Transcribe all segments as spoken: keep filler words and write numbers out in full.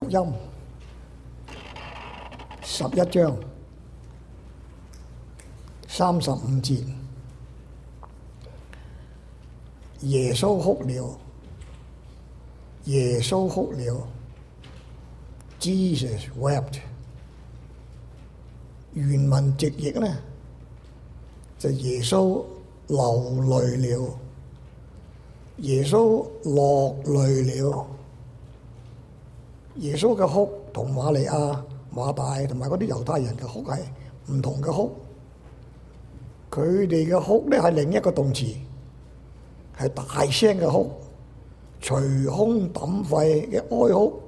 音十一章三十五節，耶穌哭了，耶穌哭了 ，Jesus wept。原文直譯呢，就耶穌流淚了，耶穌落淚了。耶穌嘅哭同瑪利亞、馬大同埋嗰啲猶太人嘅哭係唔同嘅哭，佢哋嘅哭咧係另一個動詞，係大聲嘅哭，捶胸抌肺嘅哀哭，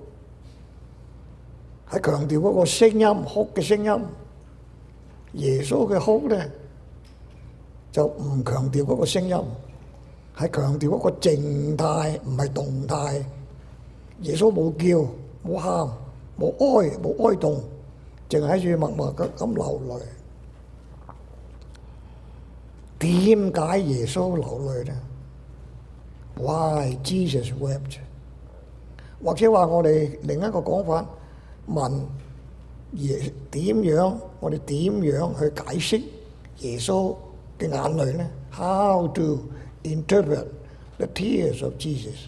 係強調嗰個聲音，哭嘅聲音。耶穌嘅哭咧就唔強調嗰個聲音，係強調嗰個靜態，唔係動態。耶穌冇叫，冇喊，冇哀，冇哀慟，淨係喺度默默咁咁流淚。點解耶穌流淚呢？ Why Jesus wept？ 或者話我哋另一個講法，問耶點樣？我哋點樣去解釋耶穌嘅眼淚呢？ How to interpret the tears of Jesus？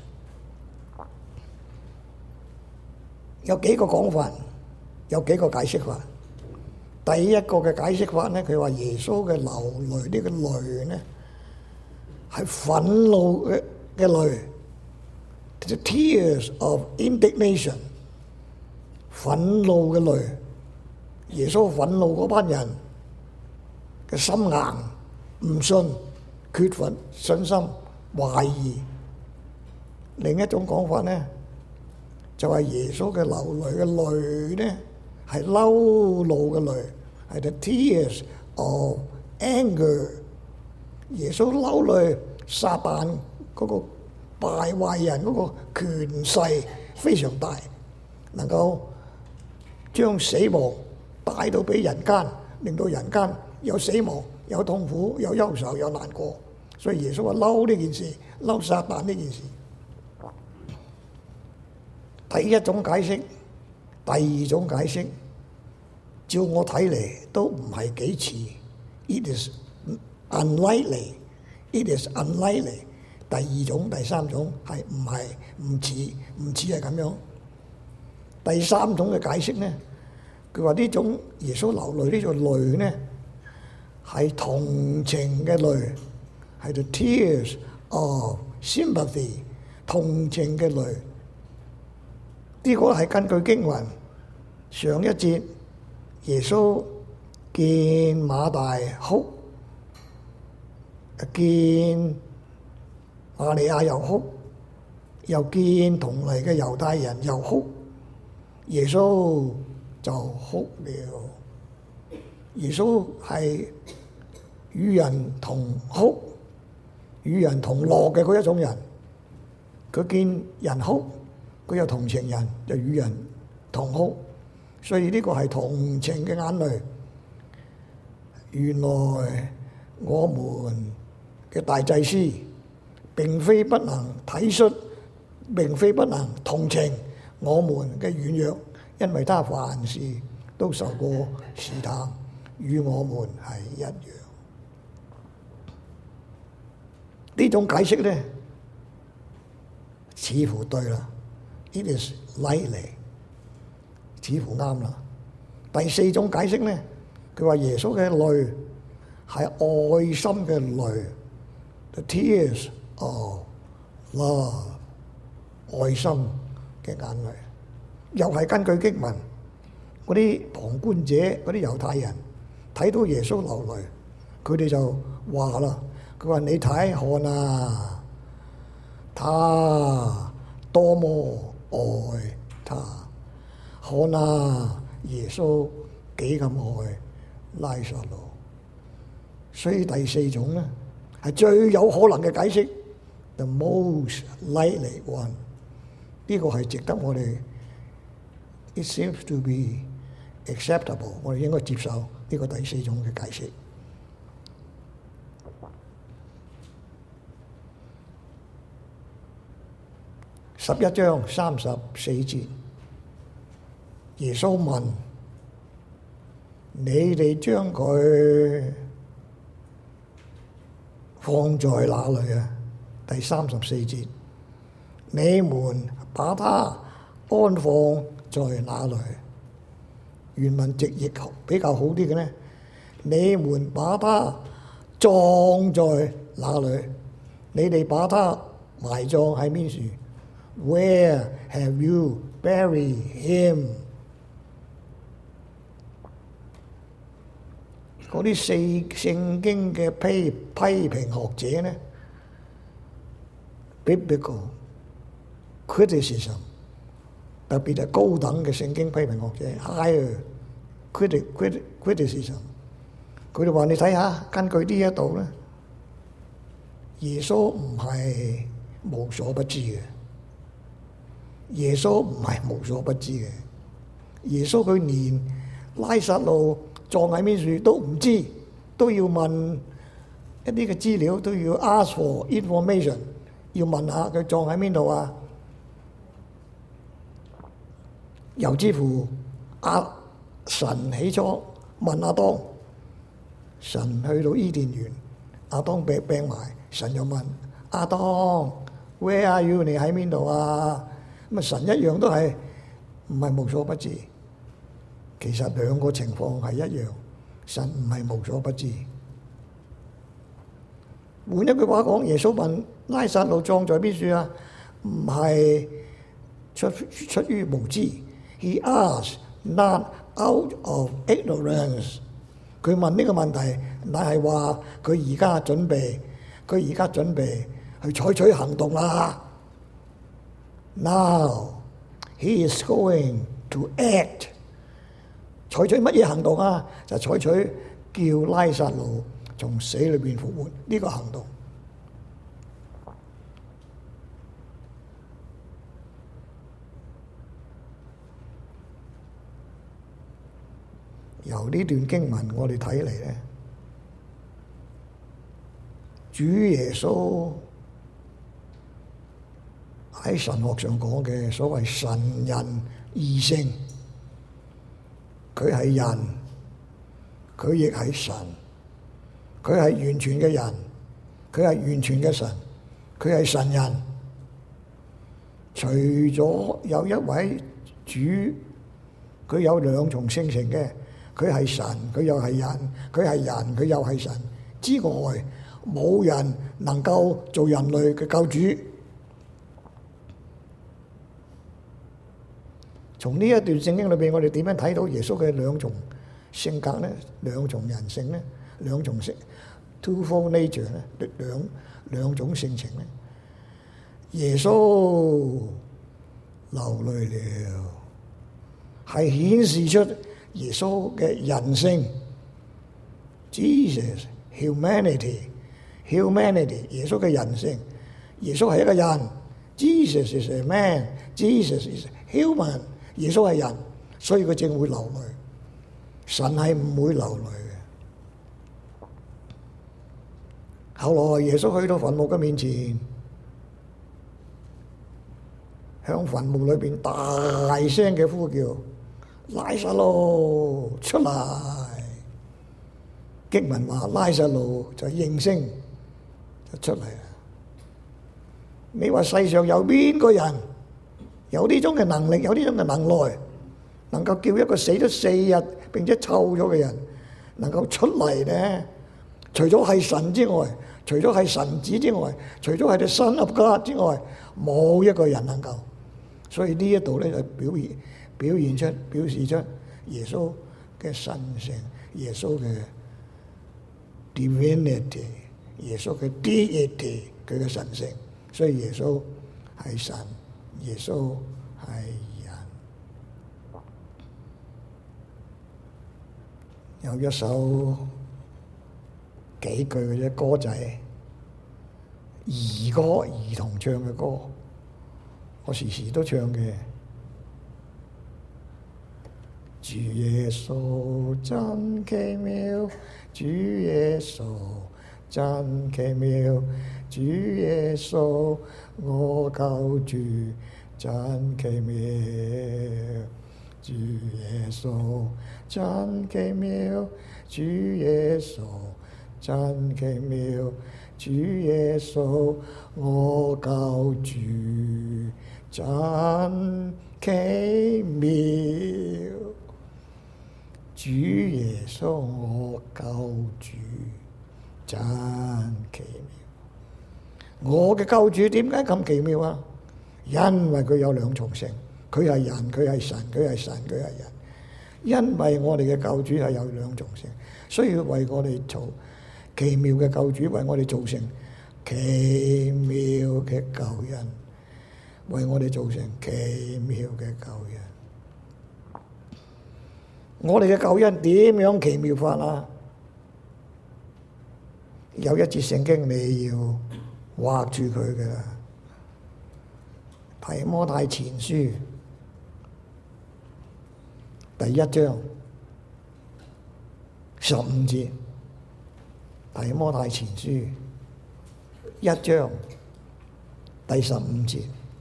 有幾個講法，有幾個解釋法。第一個嘅解釋法呢，佢話耶穌嘅流淚呢個淚呢，係憤怒嘅嘅淚 ，the tears of indignation， 憤怒嘅淚。耶穌憤怒嗰班人嘅心硬、唔信、缺乏信心、懷疑。另一種講法呢，就係耶穌嘅流淚嘅淚呢，係嬲怒嘅淚，係 the tears of anger。耶穌嬲淚，撒旦嗰個敗壞人嗰個權勢非常大，能夠將死亡帶到俾人間，令到人間有死亡、有痛苦、有憂愁、有難過。所以耶穌話嬲呢件事，嬲撒旦呢件事。第一種解釋，第二種解釋，照我睇嚟都唔係幾似。It is unlikely. It is unlikely. 第二種、第三種係唔係唔似唔似係咁樣。第三種嘅解釋呢，佢話呢種耶穌流淚呢種淚呢，係同情嘅淚，係 the tears of sympathy， 同情嘅淚。呢個係根據經文上一節，耶穌見馬大哭，見瑪利亞又哭，又見同嚟嘅猶太人又哭，耶穌就哭了。耶穌係與人同哭、與人同樂嘅嗰一種人，佢見人哭，佢有同情人，就與人同哭，所以呢個係同情嘅眼淚。原來我們嘅大祭司並非不能體恤，並非不能同情我們嘅軟弱，因為他凡事都受過試探，與我們係一樣。呢種解釋呢，似乎對啦。It is likely， 似乎啱啦。第四種解釋呢，佢話耶穌嘅淚係愛心嘅淚 ，the tears of love， 愛心嘅眼淚。又係根據經文，嗰啲旁觀者、嗰啲猶太人睇到耶穌流淚，佢哋就話啦，佢話你睇看啊，他多麼愛他，看啊，耶穌幾咁愛拉撒路。所以第四種咧係最有可能嘅解釋 ，the most likely one。呢個係值得我哋 ，it seems to be acceptable。我哋應該接受呢個第四種嘅解釋。十一章三十四節， 耶穌問：你哋將佢放在哪裏啊？第三十四節，你們把他安放在哪裏？原文直譯比較好啲嘅呢，你們把他葬在哪裏？你哋把他埋葬喺邊處 ？Where have you buried him？ 嗰啲四聖經嘅批批評學者呢 ，biblical criticism， 特別係高等嘅聖經批評學者 higher critic critic criticism， 佢哋話你睇下，根據呢一度咧，耶穌唔係無所不知嘅，耶穌唔係無所不知嘅，耶穌佢連拉撒路葬喺邊處都唔知，都要問一啲嘅資料，都要 ask for information， 要問下佢葬喺邊度啊？由之乎阿神起初問亞當，神去到伊甸園，亞當病病埋，神又問亞當 Where are you？ 你喺邊度啊？咁啊神一樣都係唔係無所不知。其實兩個情況係一樣，神唔係無所不知。換一句話講，耶穌問拉撒路葬在邊處啊？唔係出出於無知。He asked not out of ignorance。佢問呢個問題，乃係話佢而家準備，佢而家準備去採取行動啦。Now he is going to act。採取乜嘢行動啊？就採取叫拉撒路從死裏邊復活呢個行動。由呢段經文我哋睇嚟咧，主耶穌喺神學上講嘅所謂神人二性。佢係人，佢亦係神，佢係完全嘅人，佢係完全嘅神，佢係神人。除咗有一位主，佢有兩重性情嘅，佢係神，佢又係人，佢係人，佢又係神之外，冇人能夠做人類嘅救主。從呢一段聖經裏邊，我哋點樣睇到耶穌嘅兩重性格呢？兩重人性呢？兩重性 twofold nature 呢？兩兩種性情呢？耶穌流淚了，係顯示出耶穌嘅人性。Jesus humanity humanity 耶穌嘅人性，耶穌係一個人。Jesus is a man. Jesus is human。耶穌係人，所以佢正會流淚。神係唔會流淚嘅。後來耶穌去到墳墓嘅面前，向墳墓裏邊大聲嘅呼叫：拉撒路出嚟！經文話拉撒路就應聲就出嚟啦。你話世上有邊個人有呢種嘅能力，有呢種嘅能耐，能夠叫一個死咗四日並且臭咗嘅人能夠出嚟呢？除咗係神之外，除咗係神子之外，除咗係the Son of God之外，冇一個人能夠。所以呢一度咧就表現表現出表示出耶穌嘅神性，耶穌嘅 divinity， 耶穌嘅 deity， 佢嘅神性。所以耶穌係神。耶穌係人。有一首幾句嘅啫歌仔，兒歌兒童唱嘅歌，我時時都唱嘅。主耶穌真奇妙，主耶穌真奇妙，主耶穌我救主真奇妙， 主耶穌真奇妙，主耶穌真奇妙，主耶穌我救主真奇妙，主耶穌我救主真奇妙。我嘅救主點解咁奇妙啊？因為佢有兩重性，佢係人，佢係神，佢係神，佢係人。因為我哋嘅救主係有兩重性，所以為我哋做奇妙嘅救主，為我哋造成奇妙嘅救恩，為我哋造成奇妙嘅救恩。我哋嘅救恩點樣奇妙法啊？有一節聖經你要畫住佢嘅，提摩太前書第一章十五節，提摩太前書一章第十五節，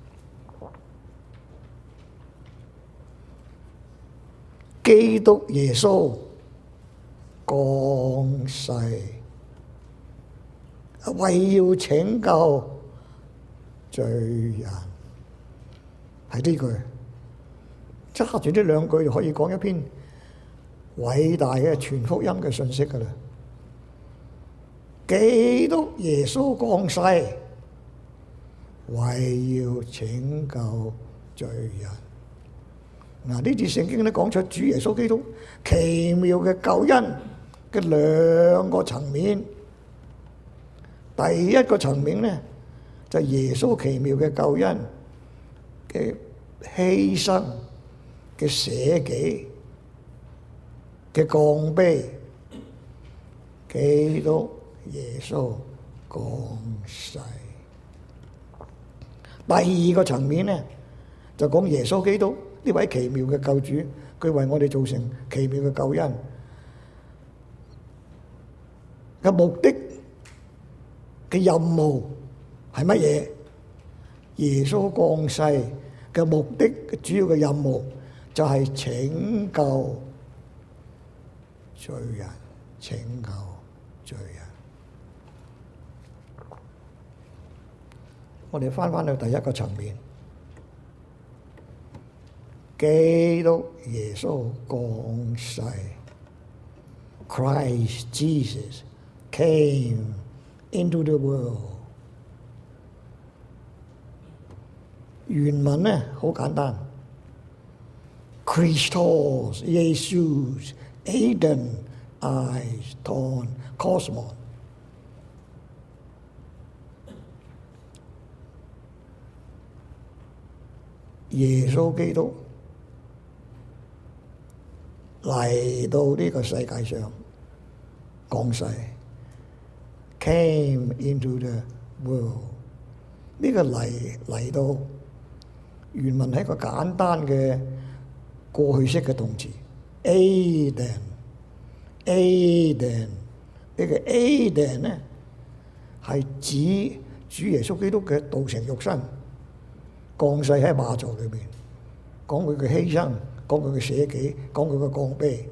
基督耶穌降世，為要拯救罪人，係呢句，揸住呢兩句就可以講一篇偉大嘅全福音嘅信息㗎喇。基督耶穌降世，為要拯救罪人。嗱，呢節聖經咧講出主耶穌基督奇妙嘅救恩嘅兩個層面。第一個層面咧就係耶穌奇妙嘅救恩嘅犧牲嘅捨己嘅降卑，基督耶穌降世。第二個層面咧就講耶穌基督呢位奇妙嘅救主，佢為我哋造成奇妙嘅救恩嘅目的嘅任務係乜嘢？耶穌降世嘅目的嘅主要嘅任務就係拯救罪人，拯救罪人。我哋翻返去第一個層面，基督耶穌降世 ，Christ Jesus came into the world。原文呢好簡單 ，Christos Jesus Eden Eis Ton Cosmos。耶穌基督嚟到呢個世界上降世 ，came into the world。呢個嚟嚟到原文係一個簡單嘅過去式嘅動詞 ，Aden，Aden 呢個 Aden 呢係指主耶穌基督嘅道成肉身。降世喺馬槽裏邊，講佢嘅犧牲，講佢嘅捨己，講佢嘅降卑。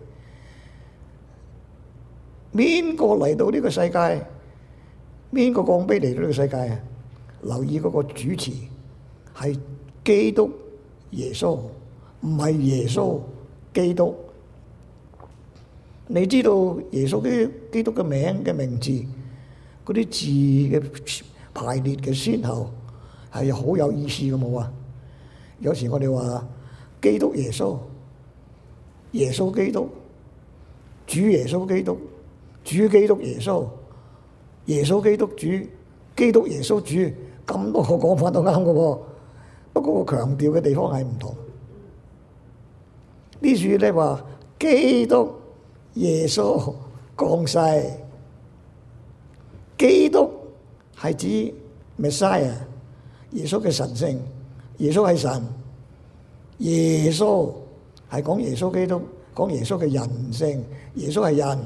邊個嚟到呢個世界？邊個降卑嚟到呢個世界啊？留意嗰個主詞係基督耶穌，唔係耶穌基督。你知道耶穌基基督嘅名嘅名字嗰啲字嘅排列嘅先後係好有意思嘅冇啊！有時我哋話基督耶穌、耶穌基督、主耶穌基督、主基督耶穌、耶穌基督主、基督耶穌主，咁多個講法都啱嘅喎。不過個強調嘅地方係唔同。呢處咧話基督耶穌降世，基督係指 Messiah。耶穌嘅神性，耶穌係神，耶穌係講耶穌基督，講耶穌嘅人性，耶穌係人，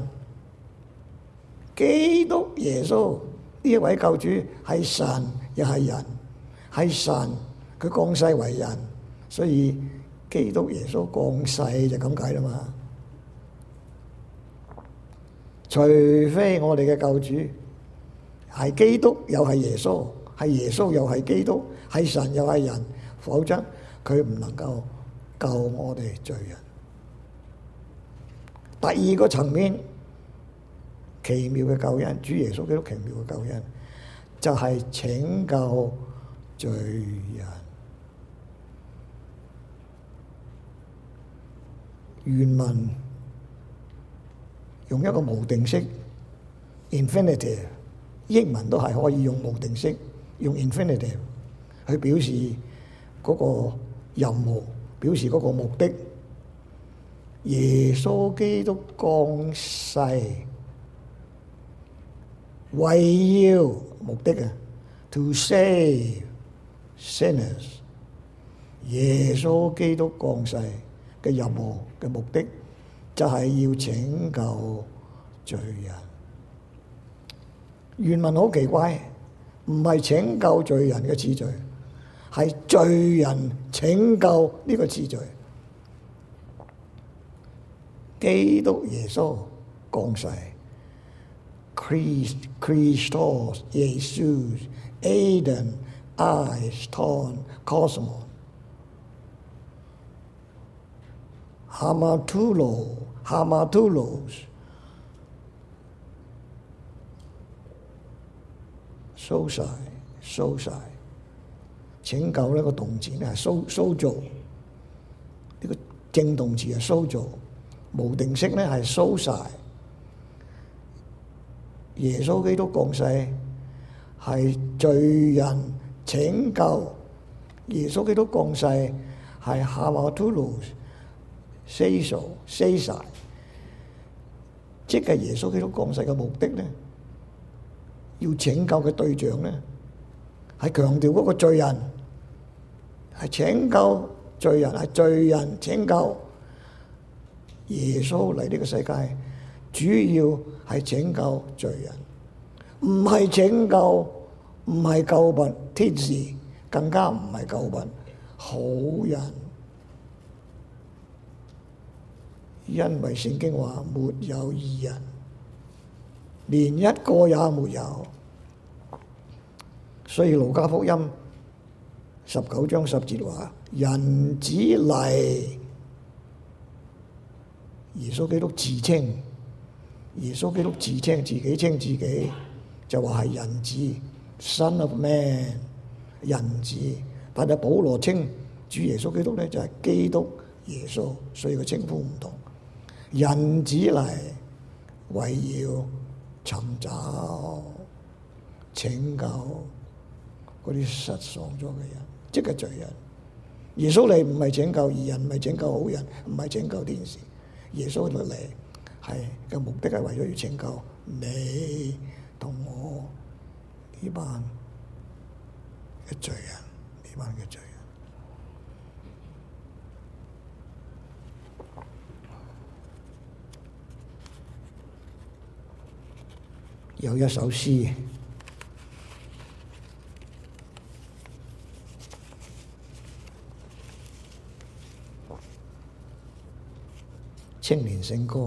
基督耶穌呢一位救主係神又係人，係神佢降世為人，所以基督耶穌降世就咁解啦嘛。除非我哋嘅救主係基督又係耶穌，係耶穌又係基督，係神又係人，否則佢唔能夠救我哋罪人。第二個層面，奇妙嘅救恩，主耶穌基督奇妙嘅救恩，就係拯救罪人。原文用一個無定式 infinitive， 英文都係可以用無定式，用 infinitive 去表示嗰個任務，表示嗰個目的。耶穌基督降世，為要目的啊 ，to save sinners。耶穌基督降世嘅任務嘅目的就係要拯救罪人。原文好奇怪，唔係拯救罪人嘅次序，係罪人拯救呢個次序。基督耶穌降世 ，Christ Christos Jesus Eden Aiston Cosmos Hamartulo Hamartulos蘇晒蘇晒，拯救呢個動詞咧係蘇蘇造，呢個正動詞係蘇造。無定式咧係蘇晒。耶穌基督降世係罪人拯救，耶穌基督降世係 hamartulos seso sesa， 即係耶穌基督降世嘅目的咧，要拯救嘅對象咧係強調嗰個罪人，係拯救罪人，係罪人拯救。耶穌嚟呢個世界，主要係拯救罪人，唔係拯救，唔係救拔天使，更加唔係救拔好人。因為聖經話沒有義人，連一個也沒有。所以路加福音十九章十節話：人子嚟。耶穌基督自稱，耶穌基督自稱自己稱自己，就話係人子 ，Son of Man， 人子。但係保羅稱主耶穌基督咧就係基督耶穌，所以個稱呼唔同。人子嚟為要尋找拯救嗰啲失喪咗嘅人，即係罪人。耶穌嚟唔係拯救義人，唔係拯救好人，唔係拯救天使。耶穌嚟係嘅目的係為咗要拯救你同我呢班嘅罪人，呢班嘅罪人。有一首詩，青年聖歌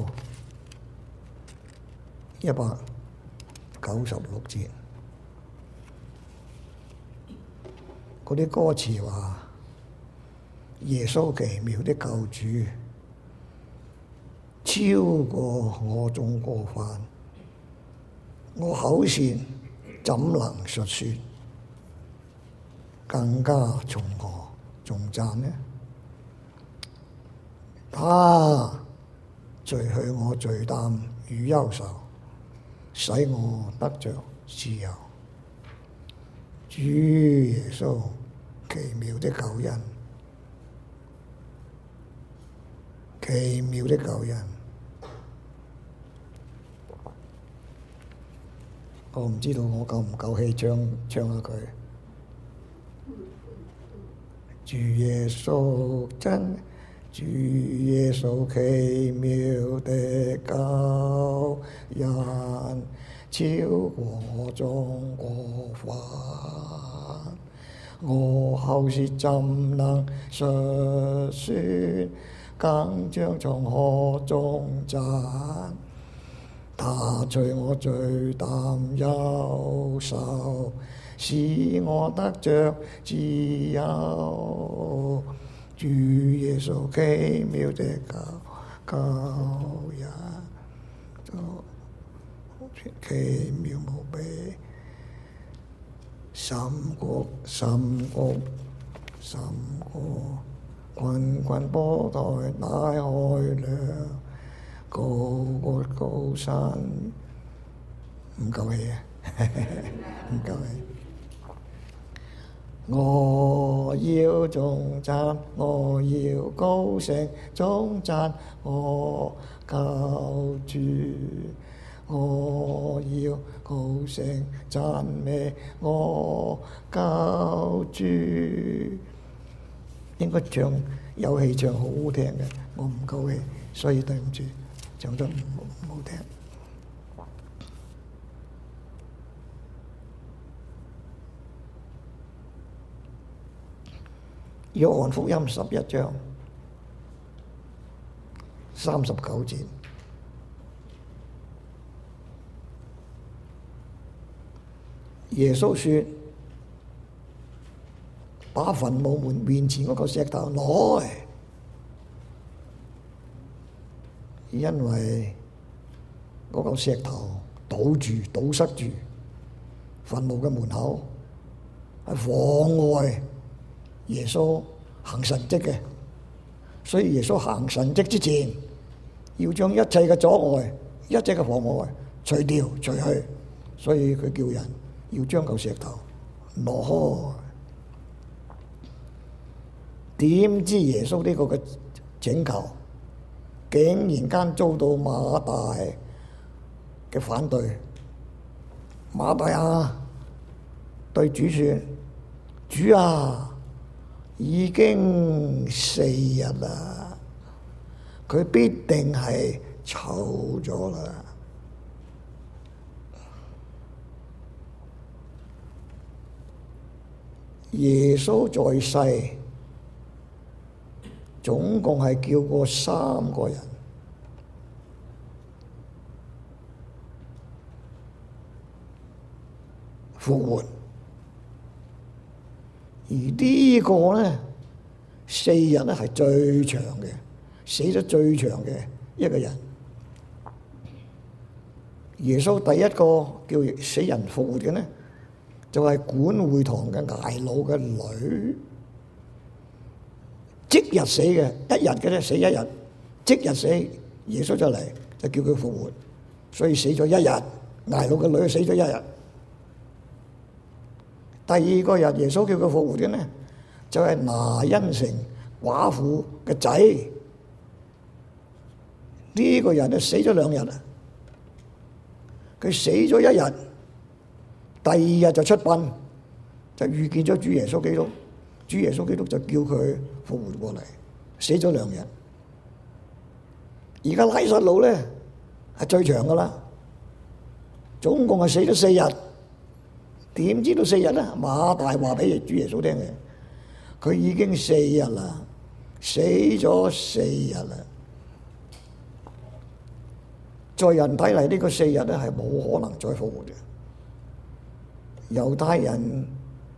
一百九十六節，嗰啲歌詞話：耶穌奇妙的救主，超過我眾過犯，我口舌怎能述說？更加從何頌讚呢？他除去我罪擔與憂愁，使我得着自由。主耶穌奇妙的救恩，奇妙的救恩。我唔知道我夠唔夠氣唱唱下佢。主耶穌真。主耶穌奇妙的救恩，超過我眾過犯， 我後事怎能述説？更將從河中賺，他除我罪擔憂愁，使我得着自由。主耶穌奇妙的救救人，奇妙無比，深谷深谷深谷，滾滾波濤大海量，高過高山，唔夠氣啊！唔夠氣。我要頌讚，我要高聲頌讚我救主，我要高聲讚美我救主。應該唱有氣唱好好聽嘅，我唔夠氣，所以對唔住，唱得唔唔好聽。約翰福音十一章三十九節，耶穌說：把墳墓門面前嗰個石頭攞來，因為嗰個石頭堵住、堵塞住墳墓嘅門口，係妨礙耶穌行神蹟嘅。所以耶穌行神蹟之前，要將一切嘅阻礙、一切嘅妨礙除掉、除去。所以佢叫人要將嚿石頭攞開。點知耶穌呢個嘅請求，竟然間遭到馬大嘅反對。馬大啊，對主說：主啊，已經四日啦，佢必定係臭咗啦。耶穌在世總共係叫過三個人，復活。而呢個呢，四日呢係最長嘅，死咗最長嘅一個人。耶穌第一個叫死人復活嘅呢，就係管會堂嘅睚魯嘅女，即日死嘅，一日嘅啫，死一日，即日死。耶穌就嚟就叫佢復活，所以死咗一日，睚魯嘅女死咗一日。第二個日耶穌叫佢復活嘅呢，就係拿因城寡婦嘅仔。呢個人就死咗兩日啦，佢死咗一日，第二日就出殯，就遇見咗主耶穌基督。主耶穌基督就叫佢復活過嚟，死咗兩日。而家拉撒路咧係最長噶啦，總共係死咗四日。點知道四日咧？馬大話俾主耶穌聽嘅，佢已經四日啦，死咗四日啦。在人睇嚟呢個四日咧係冇可能再復活嘅。猶太人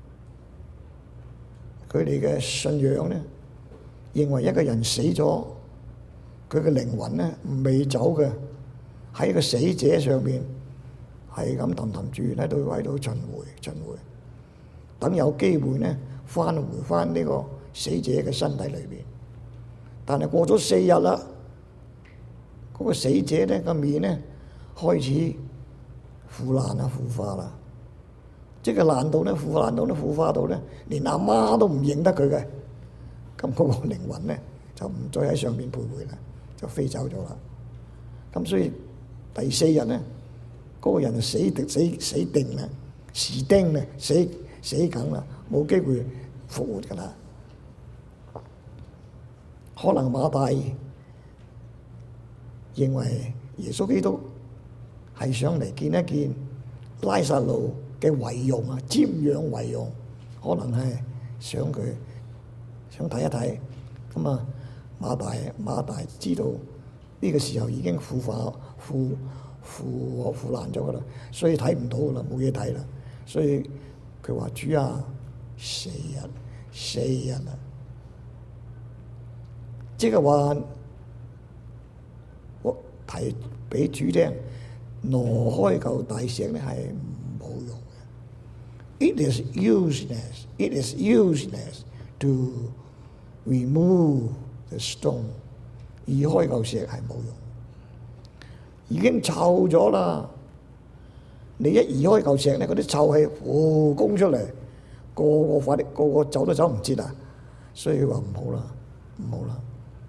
佢哋嘅信仰咧，認為一個人死咗，佢嘅靈魂咧未走嘅，喺個死者上邊係咁氹氹轉喺度喺度巡迴巡迴，等有機會咧翻回翻呢個死者嘅身體裏邊。但係過咗四日啦，嗰個死者咧個面咧開始腐爛啊腐化啦。即係爛到咧，腐爛到咧，腐化到咧，連阿媽都唔認得佢嘅。咁嗰個靈魂咧就唔再喺上面徘徊啦，就飛走咗啦。咁所以第四日咧，嗰個人就死定死死定啦，死定啦，死死梗啦，冇機會復活噶啦。可能馬大認為耶穌基督係上嚟見一見拉撒路嘅遺容啊，瞻仰遺容，可能係想佢想睇一睇。咁啊，馬大馬大知道呢個時候已經腐化腐腐腐爛咗噶啦，所以睇唔到噶啦，冇嘢睇啦。所以佢話：主啊，四日四日啦，即係話我提俾主聽，挪開嚿大石咧係冇用嘅。It is useless. It is useless to remove the stone. 移開嚿石係冇用，已經臭咗啦。你一移開嚿石咧，嗰啲臭氣呼攻出嚟，個個快啲，個個走都走唔切啊！所以佢話唔好啦，唔好啦。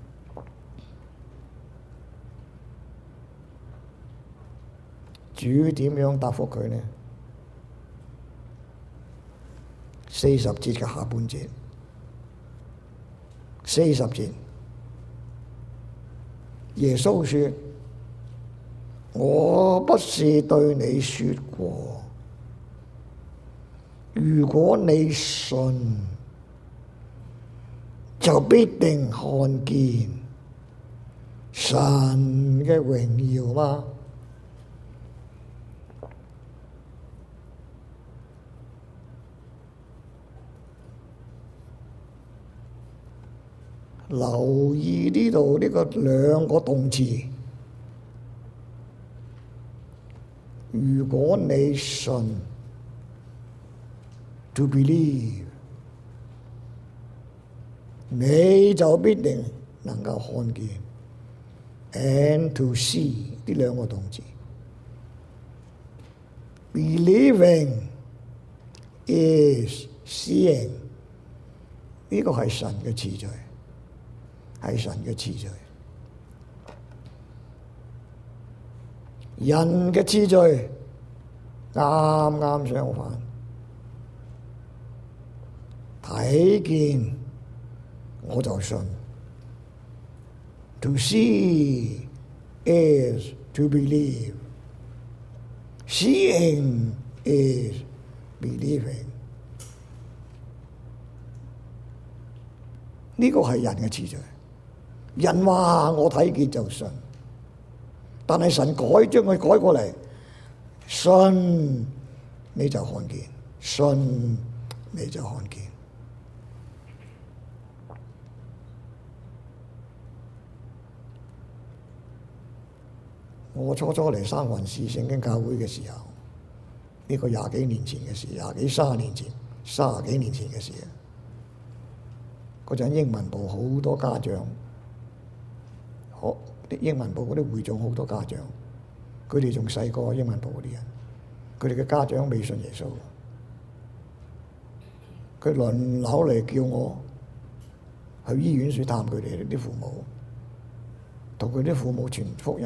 主點樣答覆佢呢？四十節嘅下半節，四十節，耶穌說：我不是對你說過，如果你信，就必定看見神嘅榮耀嗎？留意呢度呢個兩個動詞，如果你信 to believe， 你就必定能夠看見 and to see 呢兩個動詞。Believing is seeing， 呢個係神嘅次序。係神嘅次序，人嘅次序啱啱相反。睇見我就信。To see is to believe. Seeing is believing. 呢個係人嘅次序。人話我睇見就信，但係神改將佢改過嚟，信你就看見，信你就看見。我初初嚟三藩市聖經教會嘅時候，呢個廿幾年前嘅事，廿幾三十年前，三十幾年前嘅事啊！嗰陣英文部好多家長。好啲英文部嗰啲會眾好多家長，佢哋仲細過英文部嗰啲人，佢哋嘅家長未信耶穌，佢輪流嚟叫我去醫院處探佢哋啲父母，同佢啲父母傳福音。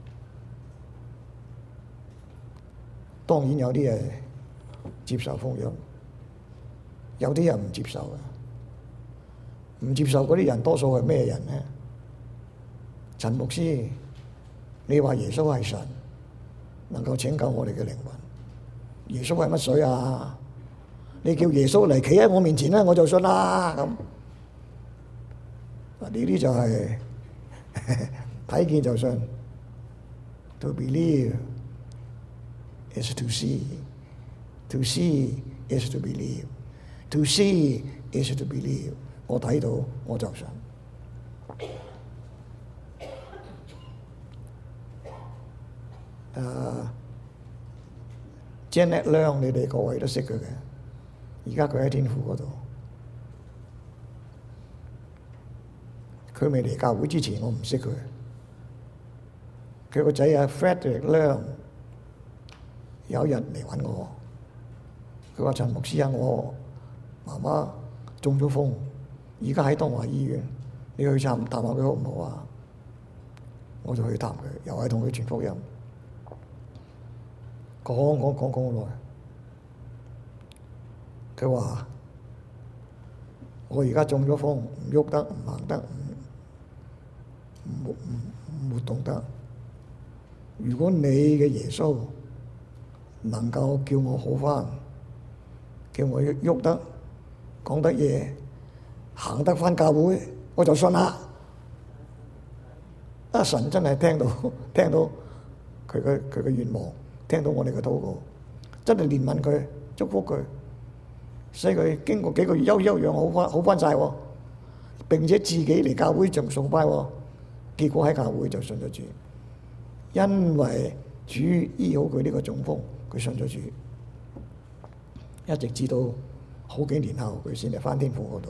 當然有啲係接受福音，有啲人唔接受嘅，唔接受嗰啲人多數係咩人呢？陳牧師，你話耶穌係神，能夠拯救我哋嘅靈魂。耶穌係乜水啊？你叫耶穌嚟企喺我面前咧，我就信啦。咁呢啲就係睇見就信。To believe is to see. To see is to believe. To see is to believe. 我睇到我就信。誒、uh, Janet Leung 你哋各位都識佢嘅，而家佢喺天父嗰度。佢未嚟教會之前，我唔識佢。佢個仔啊 Frederick Leung 有一日嚟揾我，佢話陳牧師啊，我媽媽中咗風，而家喺東華醫院，你去探探下佢好唔好啊？我就去探佢，又係同佢傳福音。講講講講好耐，佢話：我而家中咗風，唔喐得，唔行得，唔唔唔活動得。如果你嘅耶穌能夠叫我好返，叫我喐得， 講得嘢，行得返教會，我就信啦。啊！神真係聽到聽到佢嘅佢嘅願望，聽到我哋嘅禱告，真係憐憫佢，祝福佢，使佢經過幾個月休休養好翻好翻曬喎，並且自己嚟教會仲崇拜喎，結果喺教會就信咗主，因為主醫好佢呢個中風，佢信咗主，一直至到好幾年後佢先嚟翻天父嗰度。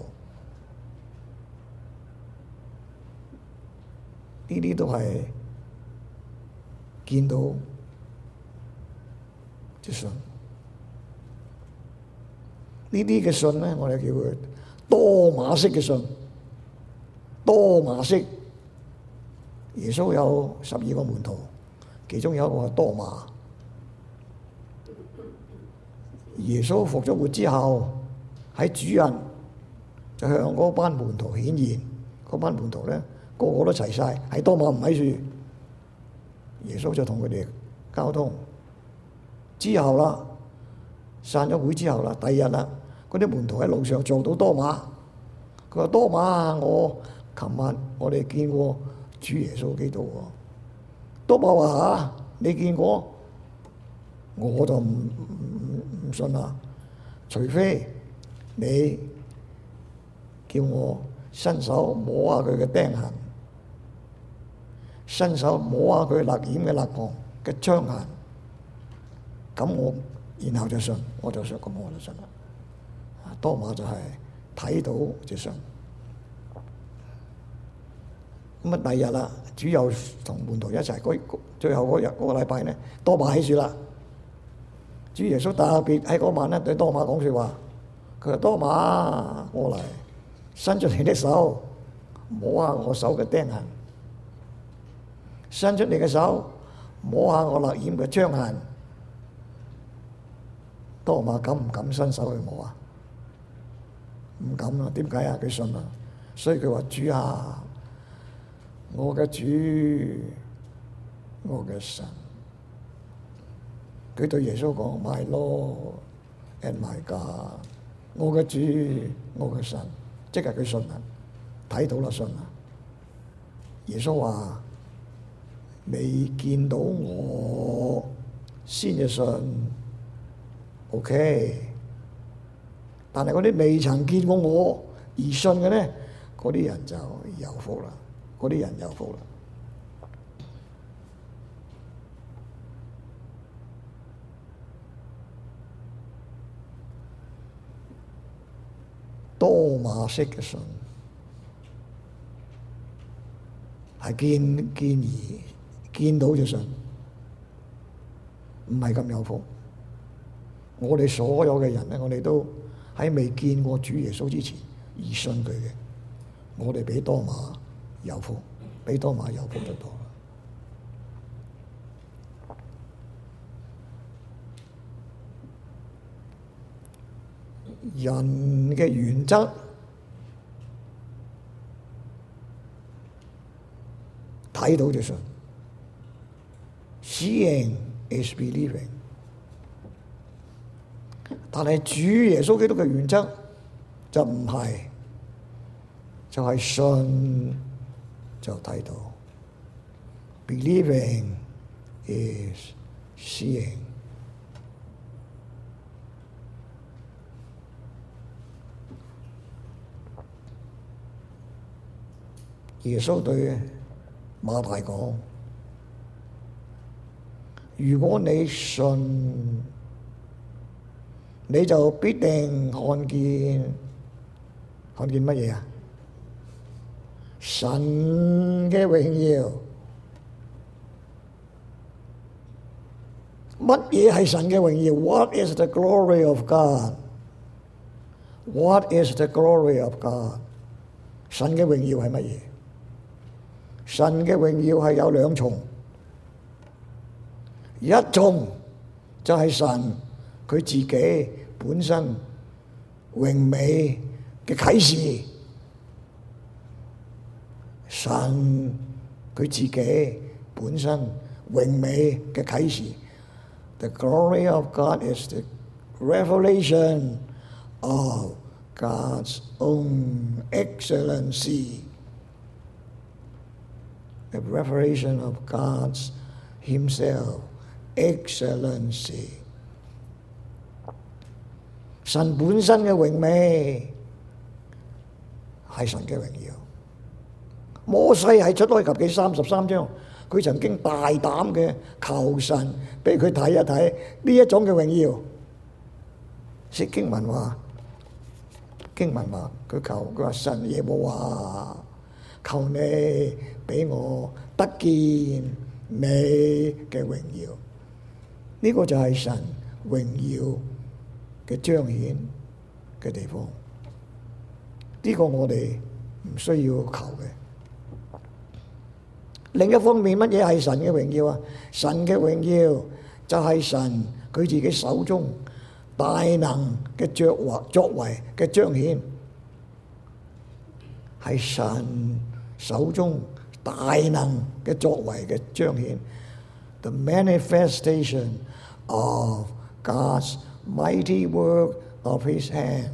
呢啲都係見到即信，呢啲嘅信咧，我哋叫佢多馬式嘅信。多馬式，耶穌有十二個門徒，其中有一個係多馬。耶穌復咗活之後，喺主日就向嗰班門徒顯現，嗰班門徒咧，個個都齊晒，係多馬唔喺處，耶穌就同佢哋交通。之後啦，散咗會之後啦，第二日啦，嗰啲門徒喺路上撞到多馬，佢話：多馬，我琴晚我哋見過主耶穌基督喎。多馬話：嚇，你見過？我就唔唔唔信啦，除非你叫我伸手摸下佢嘅釘痕，伸手摸下佢勒染嘅肋旁嘅傷痕，咁我然後就信，我就信，咁我就信啦。多馬就係睇到就信。咁啊，第二日啦，主又同門徒一齊，嗰最後嗰日嗰個禮拜咧，多馬喺處啦。主耶穌特別喺嗰晚咧對多馬講説話，佢話：多馬，過嚟，伸出你的手，摸下我手嘅釘痕；伸出你嘅手，摸下我勒染嘅傷痕。多馬敢唔敢伸手去摸啊？唔敢啊！點解啊？佢信啊！所以佢話：主啊，我嘅主，我嘅神。佢對耶穌講 My Lord and my God， 我嘅主，我嘅神，即係佢信啦，睇到啦，信啦。耶穌話：未見到我先至信 ，OK。但係嗰啲未曾見過我而信嘅咧，嗰啲人就有福啦，嗰啲人有福啦。多馬式嘅信係見見而見到就信，唔係咁有福。我哋所有嘅人咧，我哋都喺未見過主耶穌之前而信佢嘅，我哋比多馬有福，比多馬有福得多。人嘅原則睇到就信 ，Seeing is believing。但係主耶穌基督嘅原則就唔係，就係信就睇到 ，Believing is seeing。耶穌對馬大講：如果你信，你就必定看見，看見乜嘢啊？神嘅榮耀。乜嘢係神嘅榮耀 ？What is the glory of God? What is the glory of God? 神嘅榮耀係乜嘢？神嘅榮耀係有兩重，一重就係神佢自己本身榮美嘅啟示，神佢自己本身榮美嘅啟示。The glory of God is the revelation of God's own excellency, the revelation of God's Himself excellency。神本身嘅榮美係神嘅榮耀。摩西喺出埃及記三十三章，佢曾經大膽嘅求神俾佢睇一睇呢一種嘅榮耀。説經文話，經文話佢求佢話神耶和華，求你俾我得見你嘅榮耀。呢、這個就係神榮耀嘅彰顯嘅地方。呢、這個我哋唔需要求嘅。另一方面，乜嘢係神嘅榮耀啊？神嘅榮耀就係神佢自己手中大能嘅作為作為嘅彰顯，係神手中大能嘅作為嘅彰顯。The manifestation of God's mighty work of His hand。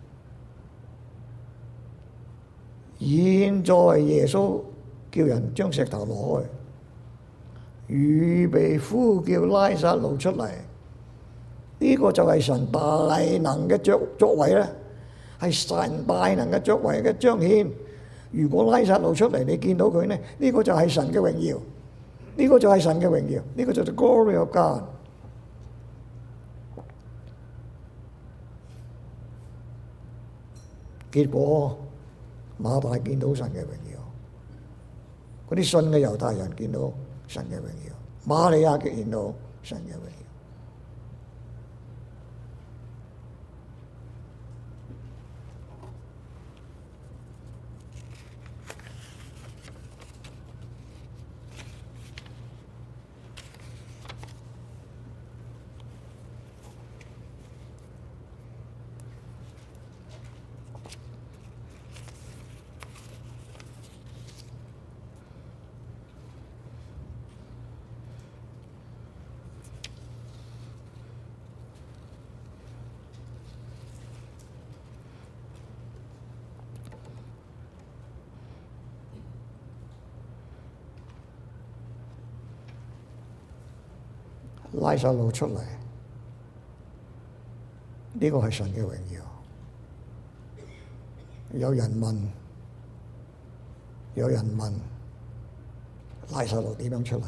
現在耶穌叫人將石頭挪開，預備呼叫拉撒路出嚟。呢、這個就係神大能嘅作作為咧，係神大能嘅作為嘅彰顯。如果拉撒路出嚟，你見到佢呢，呢、這個就係神嘅榮耀，呢、這個就係神嘅榮耀，呢、這個就係 glory of God。結果馬大見到神嘅榮耀，嗰啲信嘅猶太人見到神嘅榮耀，瑪利亞見到神嘅榮耀。拉撒路出嚟，呢、這個係神嘅榮耀。有人問，有人問拉撒路點樣出嚟？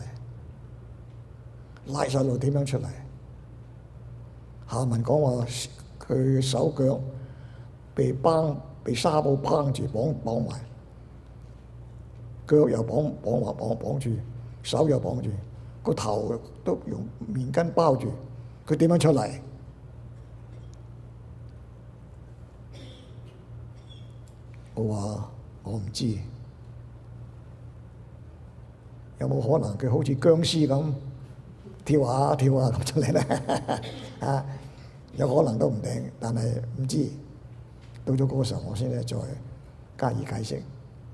拉撒路點樣出嚟？下文講話佢手腳被綁，被紗布綁住，綁綁埋，腳又綁綁話綁綁住，手又綁住。個頭都用棉巾包住，佢點樣出嚟？我話我唔知，有冇可能佢好似僵屍咁跳下跳下咁出嚟咧？啊，有可能都唔定，但係唔知。到咗嗰個時候，我先咧再加以解釋。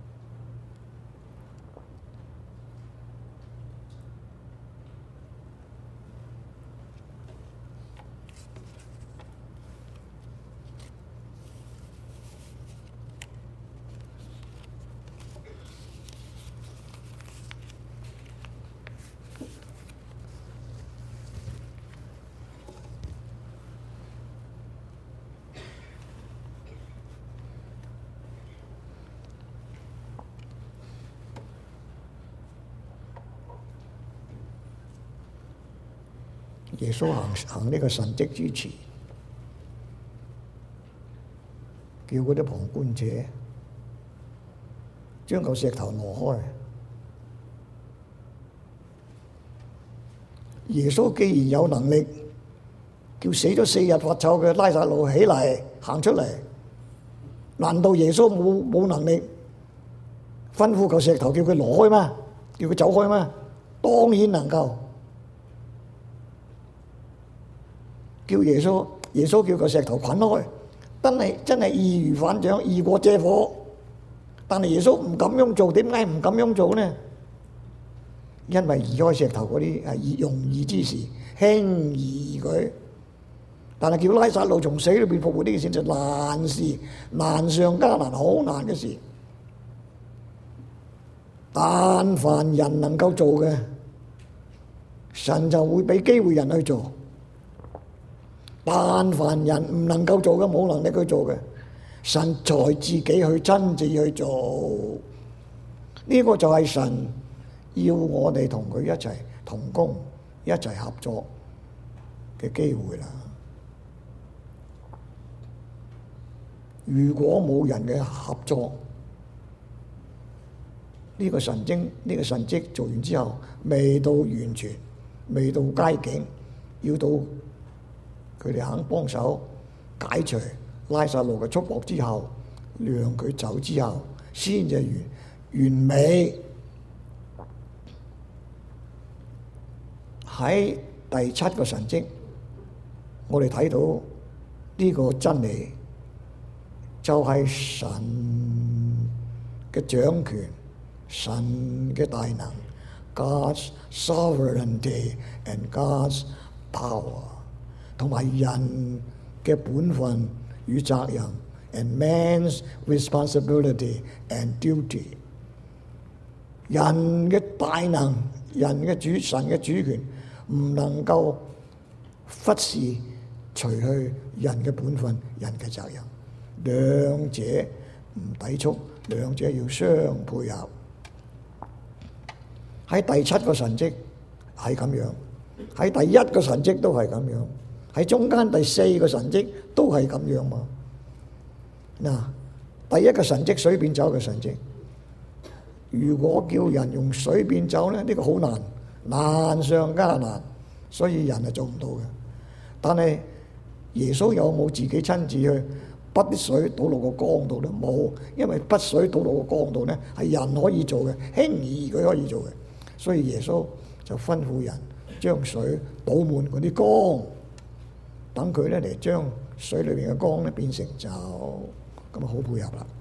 耶穌行行呢個神蹟之前，叫嗰啲旁觀者將嚿石頭挪開。耶穌既然有能力叫死咗四日發臭嘅拉撒路起嚟行出嚟，難道耶穌冇冇能力吩咐嚿石頭叫佢挪開嗎？叫佢走開嗎？當然能夠。叫耶穌，耶穌叫個石頭滾開，真係真係易如反掌，易過借火。但係耶穌唔咁樣做，點解唔咁樣做呢？因為移開石頭嗰啲係容易之事，輕而易舉。 但係叫拉撒路從死裏邊復活呢件事就難事，難上加難，好難嘅事。但凡人能夠做嘅，神就會俾機會人去做；但凡人唔能夠做嘅，冇能力去做嘅，神才自己去親自去做。呢個就係神要我哋同佢一齊同工、一齊合作嘅機會啦。如果冇人嘅合作，呢個神經呢個神蹟做完之後，未到完全，未到佳境，要到佢哋肯幫手解除拉撒路嘅束縛之後，讓佢走之後，先至完完美。喺第七個神蹟，我哋睇到呢個真理，就係神嘅掌權。神嘅大能 ，God's sovereignty and God's power， 同埋人嘅本分與責任 ，and man's responsibility and duty。人嘅大能，人嘅主，神嘅主權，唔能夠忽視除去人嘅本分、人嘅責任，兩者唔抵觸，兩者要相配合。喺第七個神蹟係咁樣，喺第一個神蹟都係咁樣，喺中間第四個神蹟都係咁樣嘛。嗱，第一個神蹟水變酒嘅神蹟，如果叫人用水變酒咧，呢個好難，難上加難，所以人係做唔到嘅。但係耶穌有冇自己親自去筆啲水倒落個缸度咧？冇，因為筆水倒落個缸度咧係人可以做嘅，輕而易舉可以做嘅。所以耶穌就吩咐人將水倒滿嗰啲缸，等佢咧嚟將水裏邊嘅缸咧變成酒，咁啊好配合啦。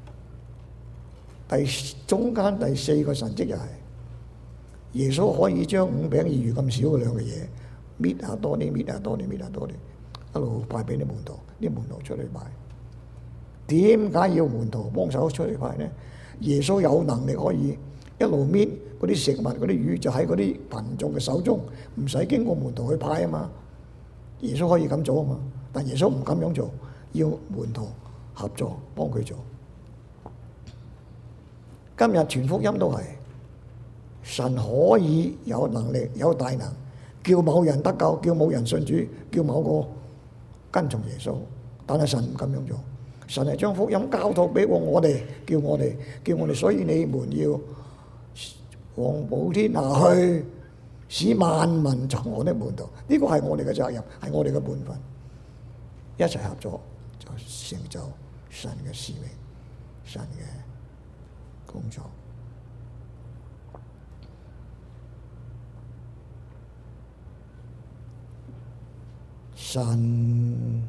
第中間第四個神蹟又係耶穌可以將五餅二魚咁少嘅兩個嘢搣下多啲，搣下多啲，搣下多啲，一路派俾啲門徒，啲門徒出去派。點解要門徒幫手出去派呢？耶穌有能力可以一路搣嗰啲食物，嗰啲魚就喺嗰啲群眾嘅手中，唔使經過門徒去派啊嘛。耶穌可以咁做啊嘛，但耶穌唔咁樣做，要門徒合作幫佢做。今日傳福音都係神可以有能力有大能，叫某人得救，叫某人信主，叫某個跟從耶穌，但係神唔咁樣做。神係將福音交託俾我哋，叫我哋叫我哋，所以你們要往普天下去，使萬民作我的門徒。呢個係我哋嘅責任，係我哋嘅本分。一齊合作就成就神嘅使命，神嘅工作。神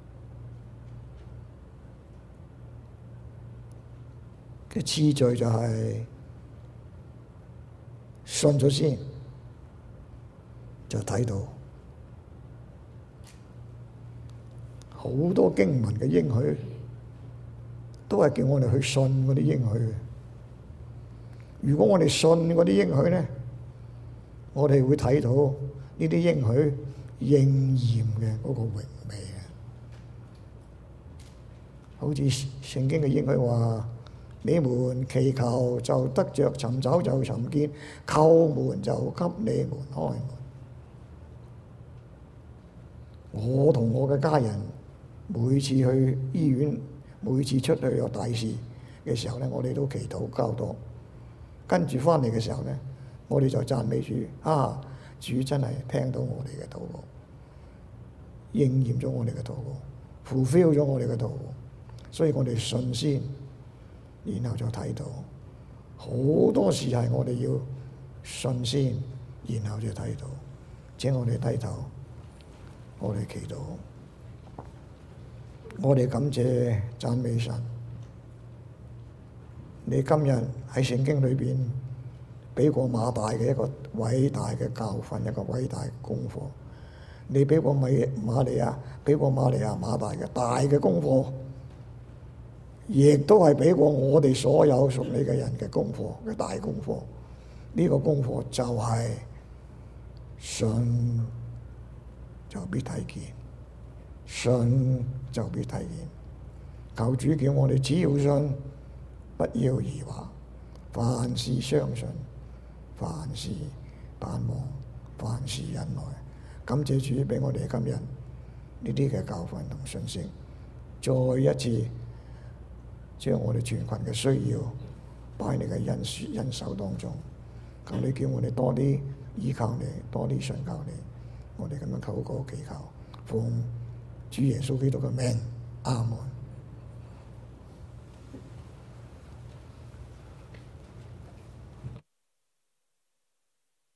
嘅次序就係信咗先，就睇到好多經文嘅應許，都係叫我哋去信嗰啲應許。如果我哋信嗰啲應許咧，我哋會睇到呢啲應許應驗嘅嗰個榮美啊！好似聖經嘅應許話：你們祈求就得着，尋找就尋見，叩門就給你們開門。我同我嘅家人每次去醫院，每次出去有大事嘅時候咧，我哋都祈禱交託，跟住翻嚟嘅時候咧，我哋就讚美主，啊！主真係聽到我哋嘅禱告，應驗咗我哋嘅禱告 fulfill 咗我哋嘅禱告，所以我哋信先，然後就睇到好多事係我哋要信先，然後就睇到。請我哋低頭，我哋祈禱，我哋感謝讚美神。你今日喺聖經裏邊俾過馬大嘅一個偉大嘅教訓，一個偉大嘅功課， 你俾過米瑪利亞，俾過瑪利亞馬大嘅大嘅功課，亦都係俾過我哋所有屬你嘅人嘅功課嘅大功課。呢個功課就係信就必睇見，信就必睇見。求主叫我哋只要信，不要疑惑，凡事相信，凡事盼望，凡事忍耐。感謝主俾我哋今日呢啲嘅教訓同信息，再一次將我哋全群嘅需要擺喺你嘅恩恩手當中。求你叫我哋多啲依靠你，多啲信靠你。我哋咁樣禱告祈求，奉主耶穌基督嘅名，阿門。